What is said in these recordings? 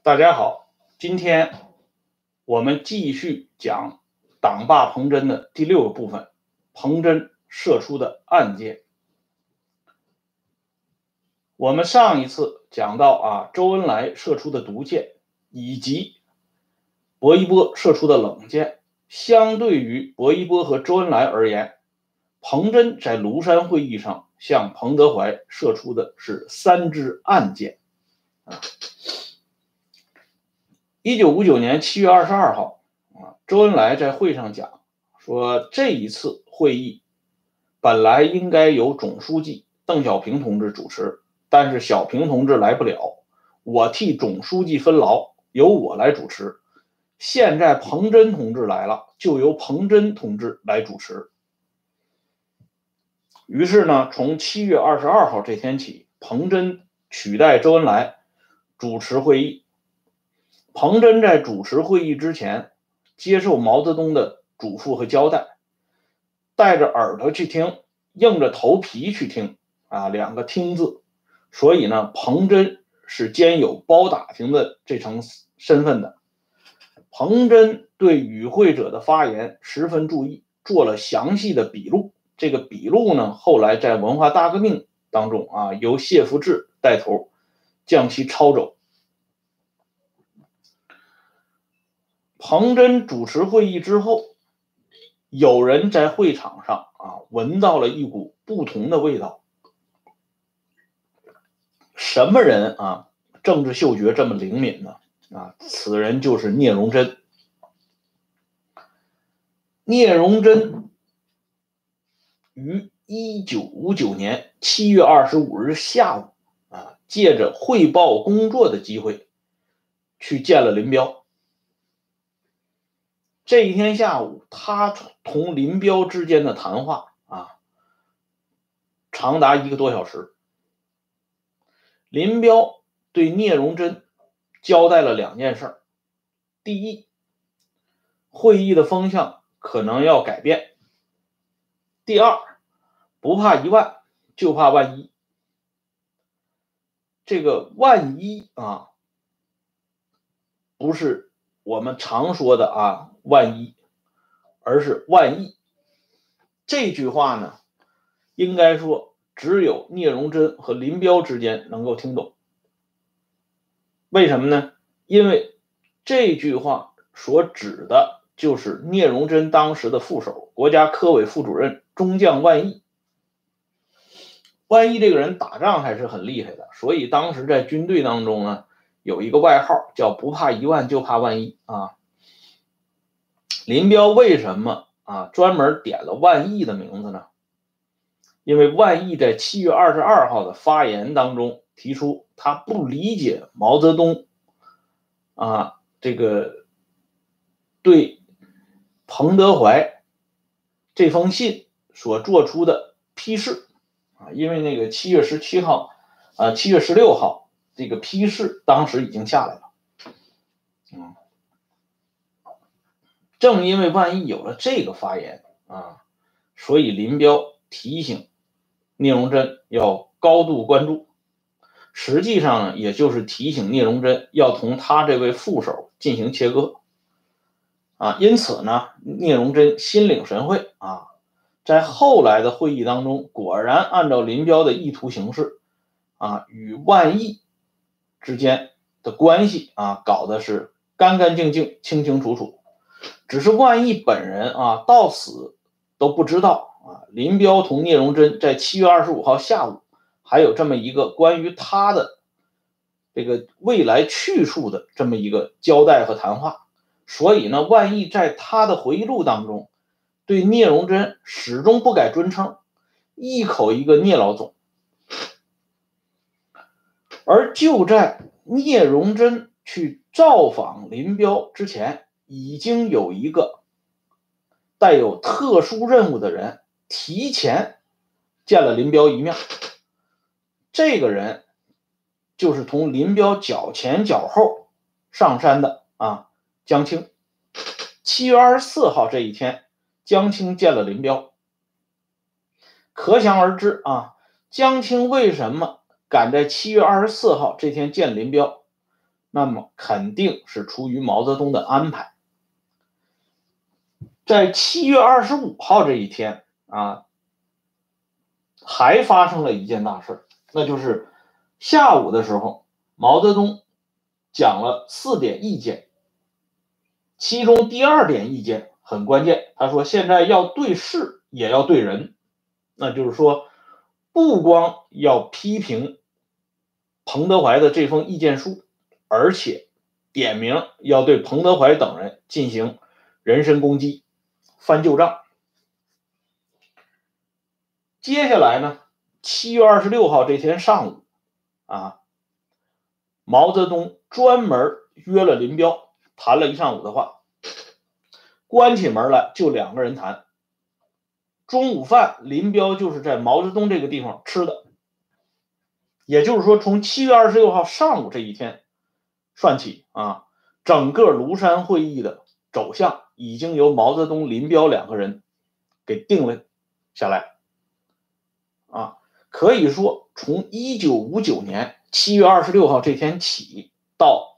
大家好，今天我们继续讲党霸彭真的第6个部分，彭真射出的暗箭。我们上一次讲到周恩来射出的毒箭，以及薄一波射出的冷箭。相对于薄一波和周恩来而言，彭真在庐山会议上向彭德怀射出的是3支暗箭。1959年7月22号，周恩来在会上讲说，这一次会议本来应该由总书记邓小平同志主持，但是小平同志来不了，我替总书记分劳，由我来主持。现在彭真同志来了，就由彭真同志来主持。于是呢，从7月22号这天起，彭真取代周恩来主持会议。彭真在主持会议之前，接受毛泽东的嘱咐和交代，带着耳朵去听，硬着头皮去听，2个听字。所以呢，彭真是兼有包打听的这层身份的。彭真对与会者的发言十分注意，做了详细的笔录。这个笔录呢，后来在文化大革命当中由谢福治带头将其抄走。彭真主持会议之后，有人在会场上闻到了一股不同的味道。什么人政治嗅觉这么灵敏呢？此人就是聂荣臻。聂荣臻于1959年7月25日下午借着汇报工作的机会去见了林彪。这一天下午，他同林彪之间的谈话长达1个多小时。林彪对聂荣臻交代了2件事。第一，会议的风向可能要改变。第二，不怕1万，就怕万一。这个万一不是我们常说的万一，而是万亿。这句话呢，应该说只有聂荣臻和林彪之间能够听懂。为什么呢？因为这句话所指的就是聂荣臻当时的副手，国家科委副主任中将万亿。万亿这个人打仗还是很厉害的，所以当时在军队当中呢，有一个外号叫不怕1万就怕万一林彪为什么专门点了万亿的名字呢？因为万亿在7月22号的发言当中提出，他不理解毛泽东这个对彭德怀这封信所做出的批示因为那个7月17号7月16号这个批示当时已经下来了正因为万一有了这个发言所以林彪提醒聂荣臻要高度关注，实际上呢，也就是提醒聂荣臻要同他这位副手进行切割因此呢，聂荣臻心领神会在后来的会议当中，果然按照林彪的意图行事与万亿之间的关系搞的是干干净净、清清楚楚。只是万亿本人到死都不知道林彪同聂荣臻在7月25号下午还有这么一个关于他的这个未来去处的这么一个交代和谈话。所以呢，万亿在他的回忆录当中对聂荣臻始终不改尊称，一口一个聂老总。而就在聂荣臻去造访林彪之前，已经有一个带有特殊任务的人提前见了林彪一面。这个人就是同林彪脚前脚后上山的江青。7月24号这一天，江青见了林彪。可想而知江青为什么赶在7月24号这天见林彪？ 那么肯定是出于毛泽东的安排。在7月25号这一天啊，还发生了一件大事，那就是下午的时候，毛泽东讲了4点意见，其中第2点意见很关键，他说现在要对事也要对人，那就是说不光要批评彭德怀的这封意见书，而且点名要对彭德怀等人进行人身攻击，翻旧账。接下来呢，7月26号这天上午啊，毛泽东专门约了林彪谈了一上午的话，关起门来就2个人谈。中午饭林彪就是在毛泽东这个地方吃的，也就是说从7月26号上午这一天算起啊，整个庐山会议的走向已经由毛泽东、林彪2个人给定了下来啊。可以说从1959年7月26号这天起到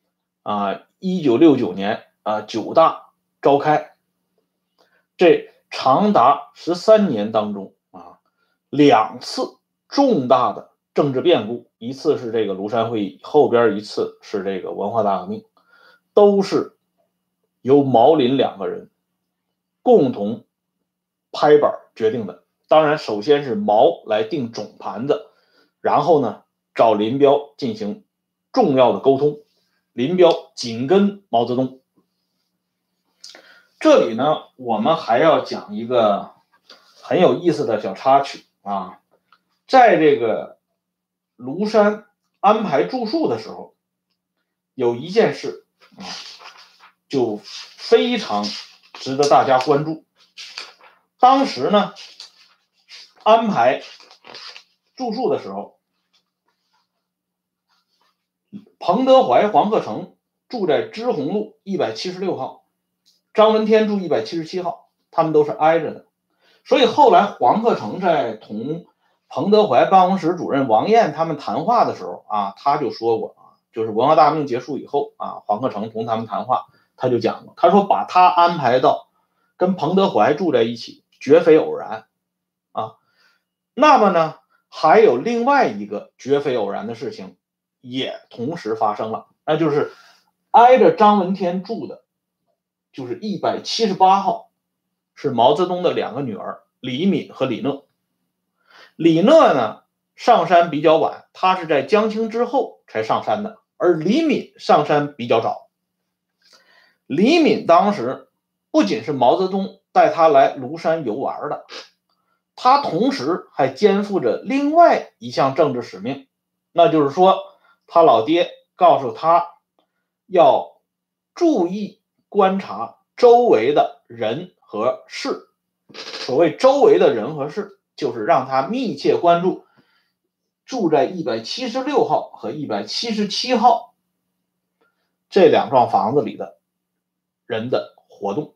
1969年9大召开，这长达13年当中2次重大的政治变故，一次是这个庐山会议，后边一次是这个文化大革命，都是由毛林2个人共同拍板决定的。当然首先是毛来定总盘子，然后呢找林彪进行重要的沟通，林彪紧跟毛泽东。这里呢我们还要讲一个很有意思的小插曲啊，在这个庐山安排住宿的时候，有一件事就非常值得大家关注。当时呢安排住宿的时候，彭德怀、黄克诚住在支洪路176号，张闻天住177号，他们都是挨着的。所以后来黄克诚在同彭德怀办公室主任王燕他们谈话的时候他就说过就是文化大革命结束以后黄克诚同他们谈话，他就讲过，他说把他安排到跟彭德怀住在一起绝非偶然那么呢还有另外一个绝非偶然的事情也同时发生了，那就是挨着张闻天住的就是178号，是毛泽东的2个女儿李敏和李讷。李讷呢上山比较晚，他是在江青之后才上山的，而李敏上山比较早。李敏当时不仅是毛泽东带他来庐山游玩的，他同时还肩负着另外一项政治使命，那就是说他老爹告诉他要注意观察周围的人和事。所谓周围的人和事，就是让他密切关注住在176号和177号这2幢房子里的人的活动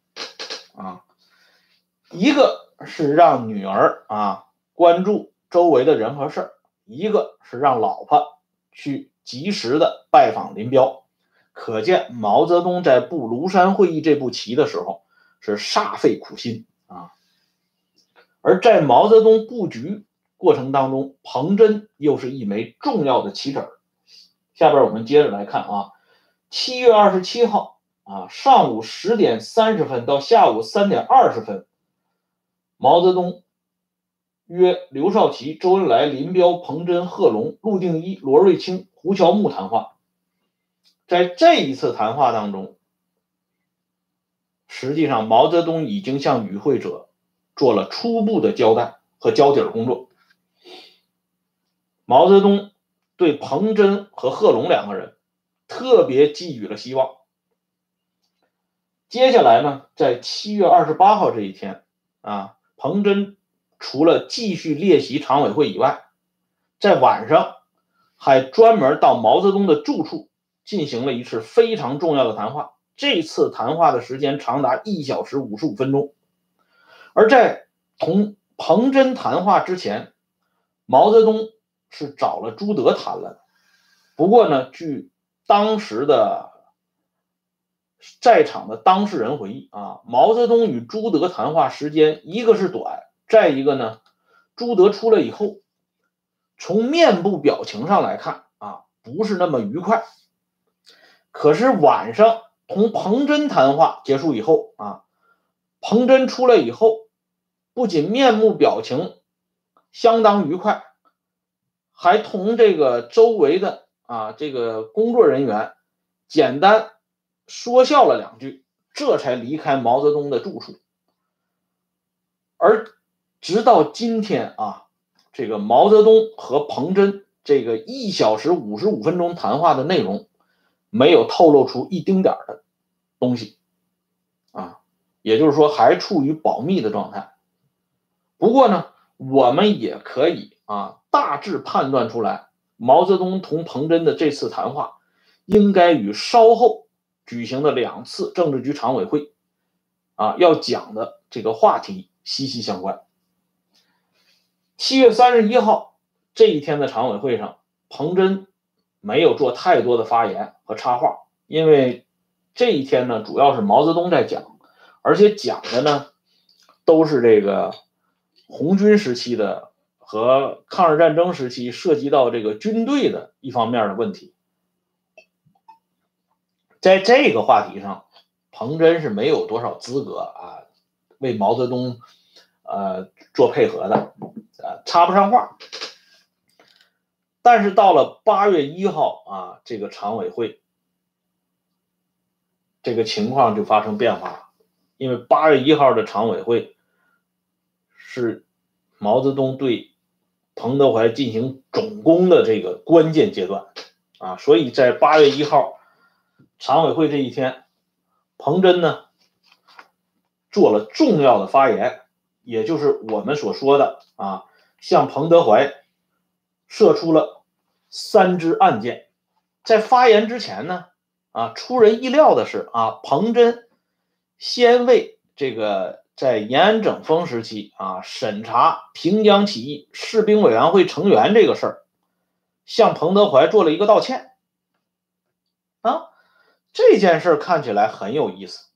一个是让女儿关注周围的人和事，一个是让老婆去及时的拜访林彪。可见毛泽东在布庐山会议这步棋的时候是煞费苦心而在毛泽东布局过程当中，彭真又是一枚重要的棋子。下边我们接着来看7月27号上午10点30分到下午3点20分，毛泽东约刘少奇、周恩来、林彪、彭真、贺龙、陆定一、罗瑞卿、胡乔木谈话。在这一次谈话当中，实际上毛泽东已经向与会者做了初步的交代和交底工作。毛泽东对彭真和贺龙2个人特别寄予了希望。接下来呢，在7月28号这一天彭真除了继续列席常委会以外，在晚上还专门到毛泽东的住处进行了一次非常重要的谈话。这次谈话的时间长达1小时55分钟。而在同彭真谈话之前，毛泽东是找了朱德谈了的。不过呢，据当时的在场的当事人回忆啊，毛泽东与朱德谈话时间一个是短，再一个呢，朱德出来以后，从面部表情上来看啊，不是那么愉快。可是晚上同彭真谈话结束以后啊，彭真出来以后，不仅面部表情相当愉快，还同这个周围的这个工作人员简单说笑了2句，这才离开毛泽东的住处。而直到今天啊，这个毛泽东和彭真这个1小时55分钟谈话的内容，没有透露出一丁点的东西啊，也就是说还处于保密的状态。不过呢，我们也可以大致判断出来，毛泽东同彭真的这次谈话应该与稍后举行的2次政治局常委会要讲的这个话题息息相关。7月31号这一天的常委会上，彭真没有做太多的发言和插话，因为这一天呢，主要是毛泽东在讲，而且讲的呢都是这个红军时期的和抗日战争时期涉及到这个军队的一方面的问题。在这个话题上，彭真是没有多少资格为毛泽东做配合的，插不上话。但是到了8月1号这个常委会，这个情况就发生变化了。因为8月1号的常委会是毛泽东对彭德怀进行总攻的这个关键阶段所以在8月1号常委会这一天，彭真呢做了重要的发言，也就是我们所说的向彭德怀射出了3支暗箭。在发言之前呢出人意料的是彭真先为这个在延安整风时期审查平江起义士兵委员会成员这个事儿，向彭德怀做了一个道歉这件事看起来很有意思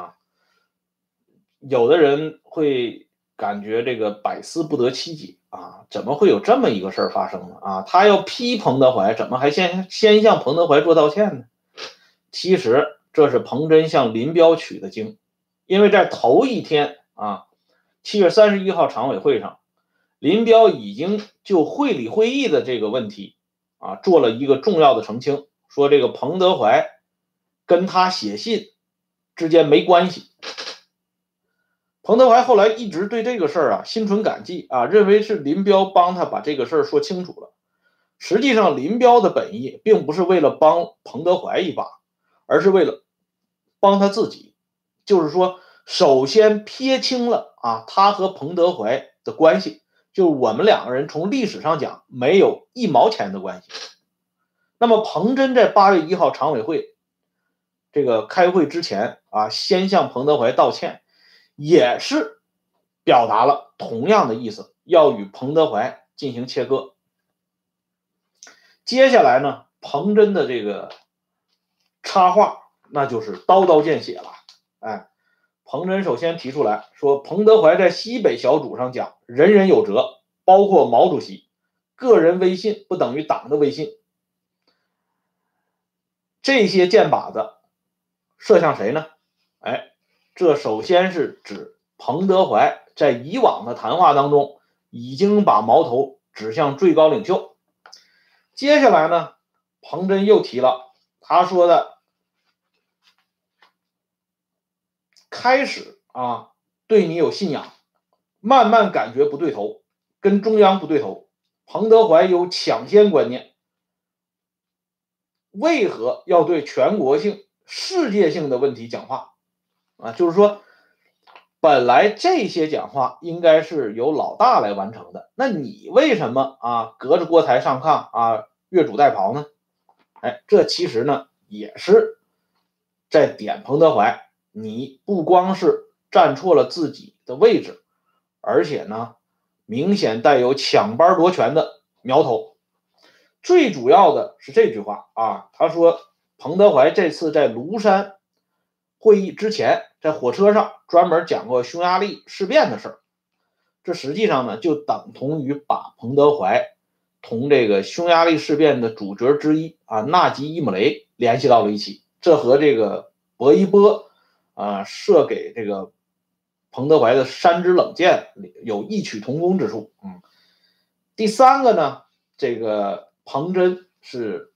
有的人会感觉这个百思不得其解怎么会有这么一个事儿发生呢他要批彭德怀，怎么还先向彭德怀做道歉呢？其实这是彭真向林彪取的经，因为在头一天7月31号常委会上，林彪已经就会理会议的这个问题做了一个重要的澄清，说这个彭德怀跟他写信之间没关系。彭德怀后来一直对这个事儿心存感激认为是林彪帮他把这个事儿说清楚了。实际上林彪的本意并不是为了帮彭德怀一把，而是为了帮他自己，就是说首先撇清了他和彭德怀的关系，就是我们2个人从历史上讲没有1毛钱的关系。那么彭真在8月1号常委会这个开会之前先向彭德怀道歉，也是表达了同样的意思，要与彭德怀进行切割。接下来呢，彭真的这个插话那就是刀刀见血了。彭真首先提出来说，彭德怀在西北小组上讲人人有责，包括毛主席，个人威信不等于党的威信。这些箭靶子射向谁呢？这首先是指彭德怀在以往的谈话当中已经把矛头指向最高领袖。接下来呢，彭真又提了他说的开始对你有信仰，慢慢感觉不对头，跟中央不对头。彭德怀有抢先观念，为何要对全国性、世界性的问题讲话就是说本来这些讲话应该是由老大来完成的，那你为什么隔着锅台上炕越俎代庖呢？这其实呢也是在点彭德怀，你不光是站错了自己的位置，而且呢明显带有抢班夺权的苗头。最主要的是这句话他说彭德怀这次在庐山会议之前，在火车上专门讲过匈牙利事变的事儿。这实际上呢，就等同于把彭德怀同这个匈牙利事变的主角之一纳吉伊姆雷联系到了一起。这和这个薄一波射给这个彭德怀的山支冷箭有异曲同工之处。第三个呢，这个彭真是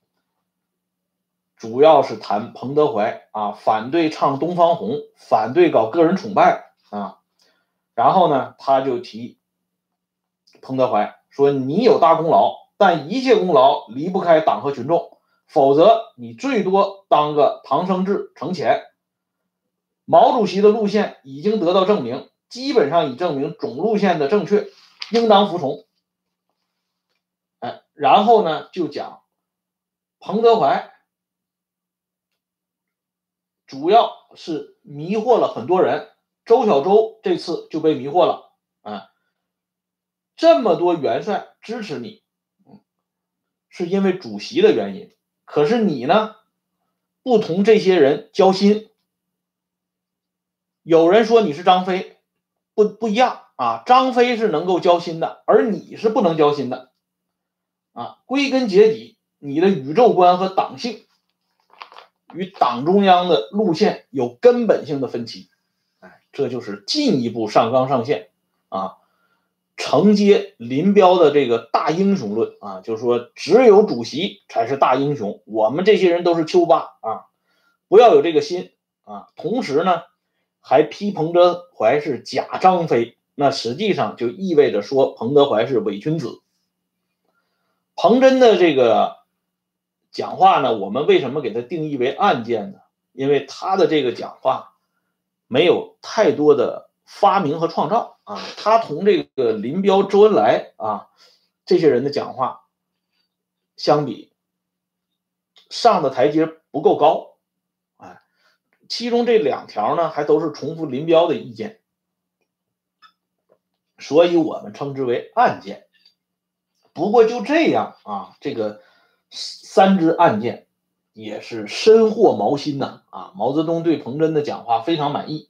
主要是谈彭德怀反对唱东方红，反对搞个人崇拜然后呢，他就提彭德怀说：“你有大功劳，但一切功劳离不开党和群众，否则你最多当个唐生智成前。毛主席的路线已经得到证明，基本上已证明总路线的正确，应当服从。”然后呢，就讲彭德怀主要是迷惑了很多人，周小舟这次就被迷惑了这么多元帅支持你，是因为主席的原因，可是你呢，不同这些人交心。有人说你是张飞，不一样张飞是能够交心的，而你是不能交心的归根结底，你的宇宙观和党性与党中央的路线有根本性的分歧。这就是进一步上纲上线承接林彪的这个大英雄论就是说只有主席才是大英雄，我们这些人都是丘巴不要有这个心同时呢，还批彭德怀是假张飞，那实际上就意味着说彭德怀是伪君子。彭真的这个讲话呢，我们为什么给他定义为暗箭呢？因为他的这个讲话没有太多的发明和创造他同这个林彪、周恩来这些人的讲话相比，上的台阶不够高其中这2条呢，还都是重复林彪的意见，所以我们称之为暗箭。不过就这样这个3支暗箭也是深获毛心毛泽东对彭真的讲话非常满意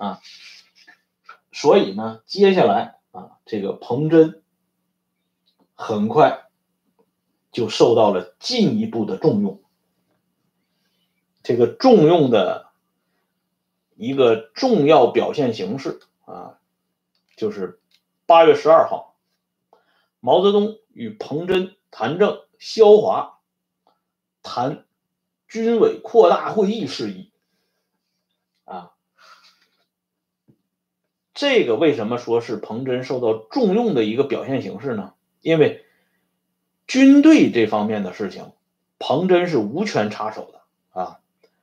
所以呢，接下来这个彭真很快就受到了进一步的重用。这个重用的一个重要表现形式就是8月12号，毛泽东与彭真、谭政、萧华谈军委扩大会议事宜这个为什么说是彭真受到重用的一个表现形式呢？因为军队这方面的事情，彭真是无权插手的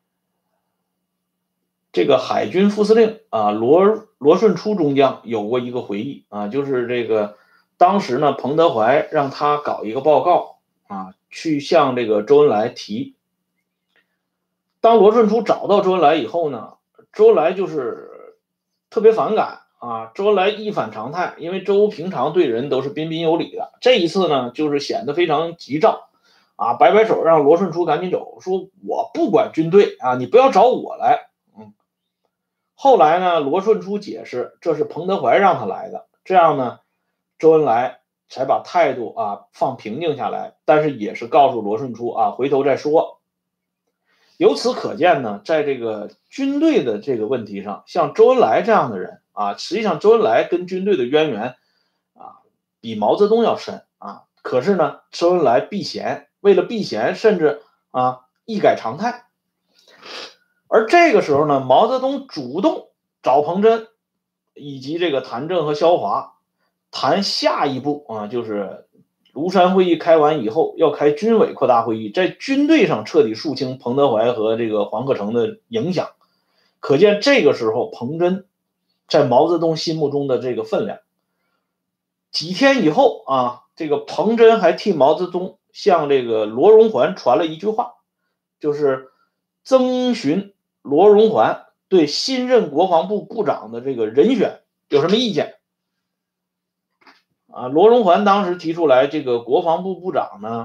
这个海军副司令罗顺初中将有过一个回忆就是这个当时呢，彭德怀让他搞一个报告去向这个周恩来提。当罗顺初找到周恩来以后呢，周恩来就是特别反感周恩来一反常态，因为周平常对人都是彬彬有礼的，这一次呢，就是显得非常急躁摆摆手让罗顺初赶紧走，说我不管军队你不要找我来。后来呢，罗顺初解释这是彭德怀让他来的，这样呢，周恩来才把态度放平静下来，但是也是告诉罗顺初回头再说。由此可见呢，在这个军队的这个问题上，像周恩来这样的人实际上周恩来跟军队的渊源比毛泽东要深可是呢，周恩来避嫌，为了避嫌，甚至一改常态。而这个时候呢，毛泽东主动找彭真以及这个谭政和萧华谈下一步就是庐山会议开完以后要开军委扩大会议，在军队上彻底肃清彭德怀和这个黄克诚的影响。可见这个时候彭真在毛泽东心目中的这个分量。几天以后这个彭真还替毛泽东向这个罗荣桓传了一句话，就是征询罗荣桓对新任国防部部长的这个人选有什么意见罗荣桓当时提出来，这个国防部部长呢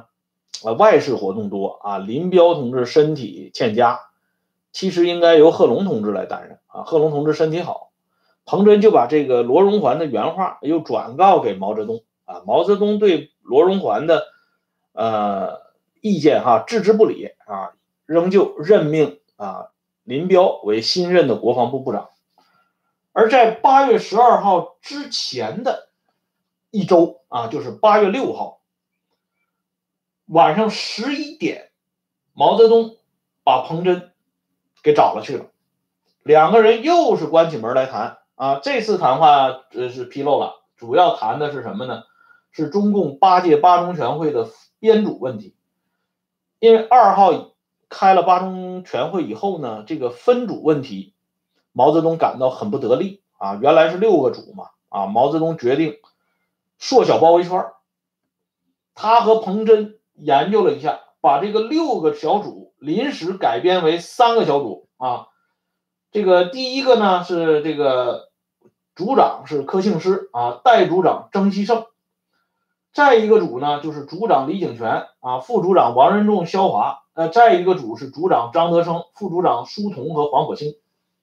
外事活动多啊，林彪同志身体欠佳，其实应该由贺龙同志来担任啊。贺龙同志身体好，彭真就把这个罗荣桓的原话又转告给毛泽东啊。毛泽东对罗荣桓的意见置之不理啊，仍旧任命林彪为新任的国防部部长。而在8月12号之前的一周啊，就是8月6号晚上11点，毛泽东把彭真给找了去了，两个人又是关起门来谈啊。这次谈话是披露了，主要谈的是什么呢？是中共8届八中全会的编组问题。因为2号开了八中全会以后呢，这个分组问题，毛泽东感到很不得力啊。原来是6个组嘛啊，毛泽东决定缩小包围圈。他和彭真研究了一下，把这个6个小组临时改编为3个小组啊。这个第一个呢是这个组长是柯庆施啊，代组长曾希圣。再一个组呢就是组长李井泉啊，副组长王任重、萧华。再一个组是组长张德生，副组长舒同和黄火星。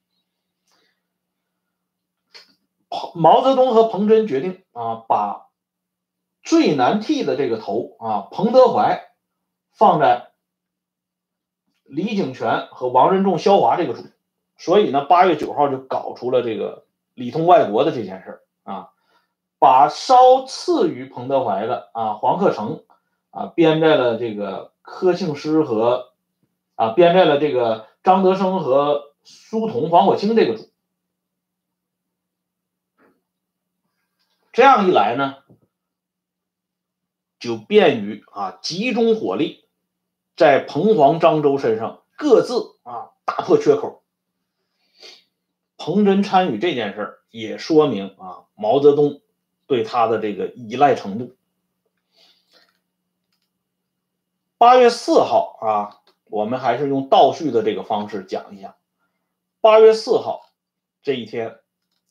毛泽东和彭真决定啊，把最难替的这个头啊，彭德怀放在李井泉和王任重、萧华这个组。所以呢，8月9号就搞出了这个里通外国的这件事啊，把稍次于彭德怀的黄克诚编在了这个柯庆施和编在了这个张德生和舒同、黄火星这个组。这样一来呢，就便于集中火力在彭黄漳州身上各自打破缺口。彭真参与这件事也说明毛泽东对他的这个依赖程度。8月4号我们还是用倒叙的这个方式讲一下。8月4号这一天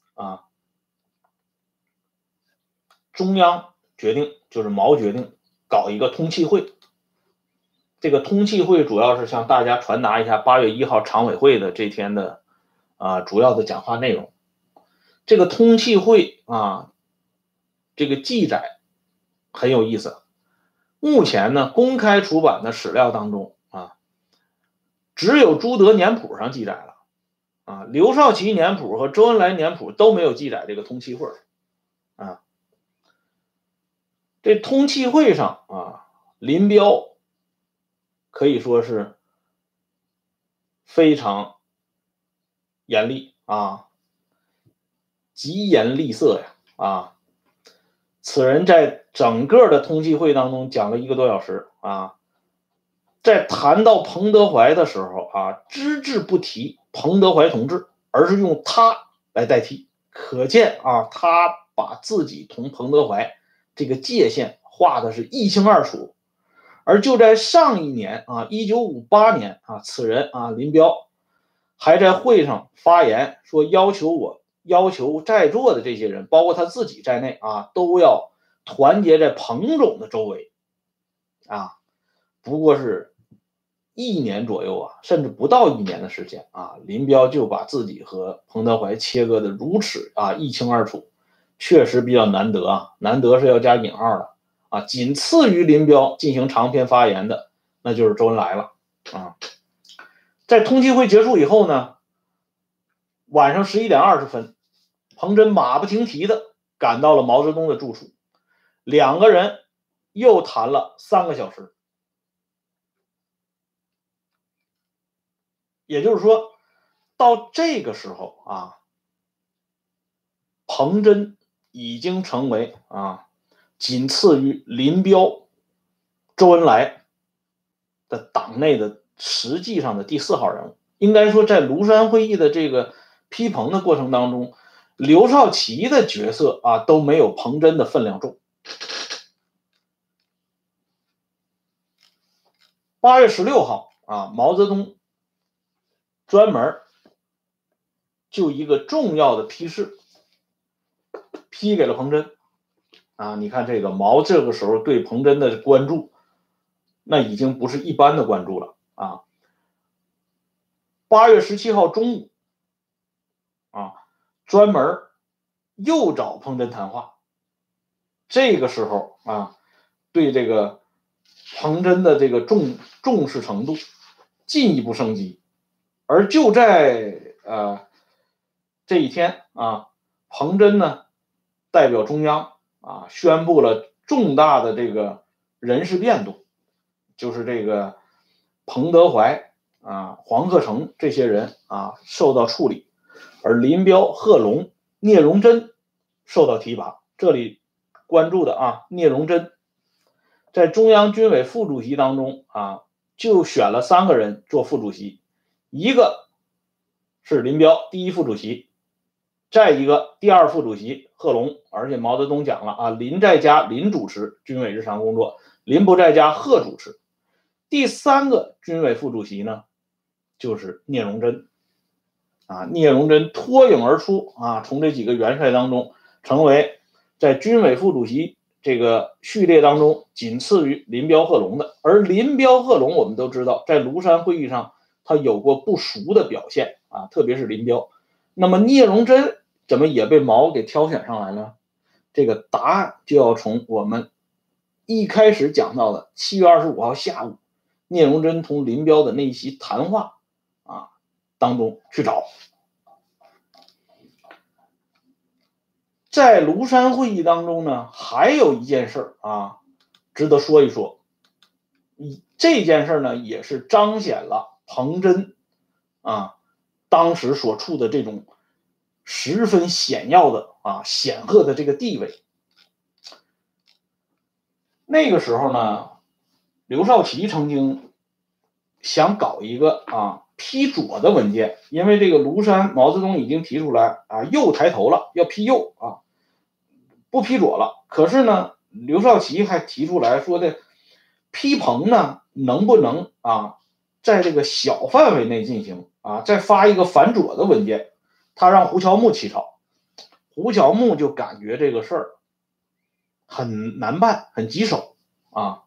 中央决定，就是毛决定搞一个通气会。这个通气会主要是向大家传达一下8月1号常委会的这天的主要的讲话内容。这个通气会这个记载很有意思。目前呢，公开出版的史料当中只有朱德年谱上记载了刘少奇年谱和周恩来年谱都没有记载这个通气会这通气会上林彪可以说是非常严厉疾言厉色呀此人在整个的通气会当中讲了1个多小时在谈到彭德怀的时候只字不提彭德怀同志，而是用他来代替，可见他把自己同彭德怀这个界限画的是一清二楚。而就在上一年1958年此人林彪还在会上发言说，要求在座的这些人，包括他自己在内都要团结在彭总的周围不过是1年左右甚至不到1年的时间林彪就把自己和彭德怀切割的如此一清二楚，确实比较难得难得是要加引号的仅次于林彪进行长篇发言的，那就是周恩来了在通气会结束以后呢，晚上11点20分，彭真马不停蹄的赶到了毛泽东的住处，两个人又谈了3个小时。也就是说，到这个时候彭真已经成为仅次于林彪、周恩来的党内的实际上的第4号人物。应该说，在庐山会议的这个批彭的过程当中，刘少奇的角色都没有彭真的分量重。8月16号毛泽东专门就一个重要的批示批给了彭真你看这个毛这个时候对彭真的关注那已经不是一般的关注了啊。8月17号中午啊，专门又找彭真谈话。这个时候啊，对这个彭真的这个重视程度进一步升级。而就在这一天啊，彭真呢代表中央啊宣布了重大的这个人事变动，就是这个彭德怀啊、黄克诚这些人啊受到处理，而林彪、贺龙、聂荣臻受到提拔。这里关注的啊，聂荣臻在中央军委副主席当中啊，就选了3个人做副主席，一个是林彪第1副主席，再一个第2副主席贺龙，而且毛泽东讲了啊，林在家林主持军委日常工作，林不在家贺主持。第3个军委副主席呢，就是聂荣臻啊，聂荣臻脱颖而出啊，从这几个元帅当中成为在军委副主席这个序列当中仅次于林彪、贺龙的。而林彪、贺龙我们都知道，在庐山会议上他有过不俗的表现啊，特别是林彪。那么聂荣臻怎么也被毛给挑选上来了？这个答案就要从我们一开始讲到的7月25号下午，聂荣臻同林彪的那席谈话啊当中去找。在庐山会议当中呢，还有一件事啊值得说一说。这件事呢，也是彰显了彭真啊当时所处的这种十分显要的啊显赫的这个地位。那个时候呢，刘少奇曾经想搞一个啊批左的文件，因为这个庐山毛泽东已经提出来啊右抬头了，要批右啊，不批左了。可是呢，刘少奇还提出来说的批彭呢，能不能啊在这个小范围内进行啊，再发一个反左的文件，他让胡乔木起草。胡乔木就感觉这个事儿很难办，很棘手啊。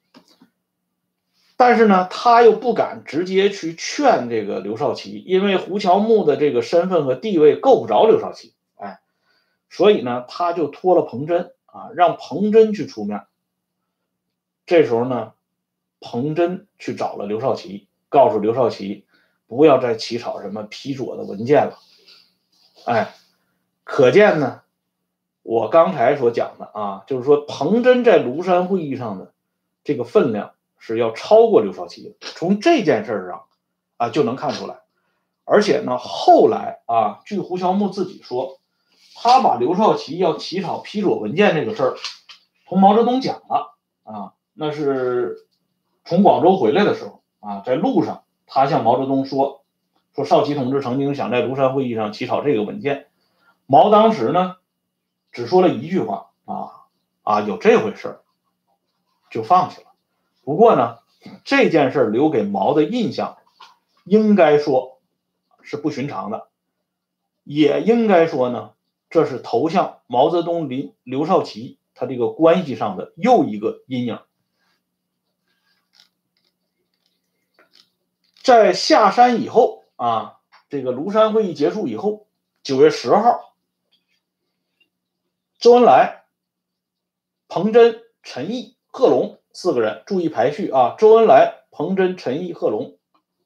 但是呢，他又不敢直接去劝这个刘少奇，因为胡乔木的这个身份和地位够不着刘少奇，哎，所以呢，他就托了彭真啊，让彭真去出面。这时候呢，彭真去找了刘少奇，告诉刘少奇不要再起草什么批左的文件了。哎，可见呢，我刚才所讲的啊，就是说彭真在庐山会议上的这个分量是要超过刘少奇的，从这件事上啊就能看出来。而且呢，后来啊，据胡乔木自己说，他把刘少奇要起草批左文件这个事儿同毛泽东讲了啊，那是从广州回来的时候啊，在路上他向毛泽东说少奇同志曾经想在庐山会议上起草这个文件。毛当时呢只说了一句话有这回事就放弃了。不过呢，这件事留给毛的印象应该说是不寻常的，也应该说呢，这是投向毛泽东刘少奇他这个关系上的又一个阴影。在下山以后啊，这个庐山会议结束以后，9月10号，周恩来、彭真、陈毅、贺龙4个人，注意排序啊，周恩来、彭真、陈毅、贺龙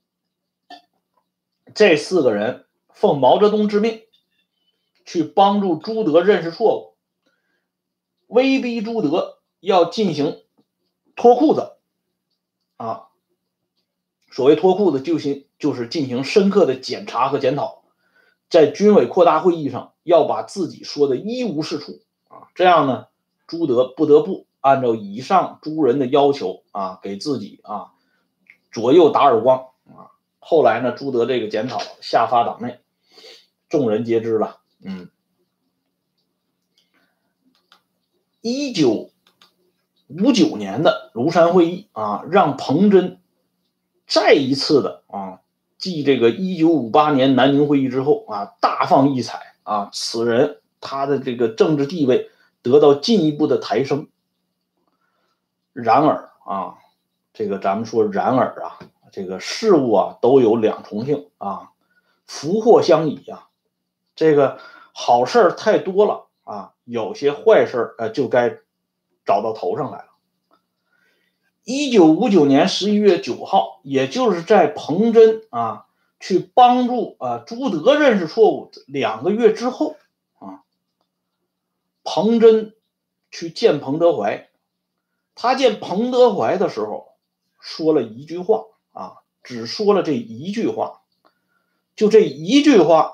这4个人奉毛泽东之命去帮助朱德认识错误，威逼朱德要进行脱裤子啊。所谓脱裤子就是进行深刻的检查和检讨，在军委扩大会议上要把自己说的一无是处啊，这样呢，朱德不得不按照以上诸人的要求啊，给自己啊左右打耳光啊。后来呢，朱德这个检讨下发党内，众人皆知了。1959年的庐山会议啊，让彭真再一次的啊，继这个1958年南宁会议之后啊，大放异彩啊，此人他的这个政治地位得到进一步的抬升。然而啊， 这个咱们说然而啊，这个事物啊都有两重性啊，福祸相倚啊。这个好事太多了啊，有些坏事就该找到头上来了。1959年11月9号，也就是在彭真啊去帮助朱德认识错误2个月之后啊，彭真去见彭德怀。他见彭德怀的时候说了一句话啊，只说了这一句话，就这一句话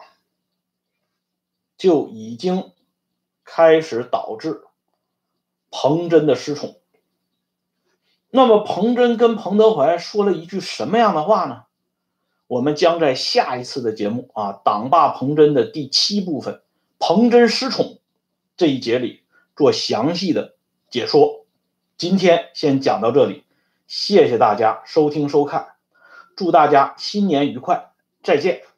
就已经开始导致彭真的失宠。那么彭真跟彭德怀说了一句什么样的话呢？我们将在下一次的节目啊，党霸彭真的第7部分彭真失宠这一节里做详细的解说。今天先讲到这里，谢谢大家收听收看，祝大家新年愉快，再见。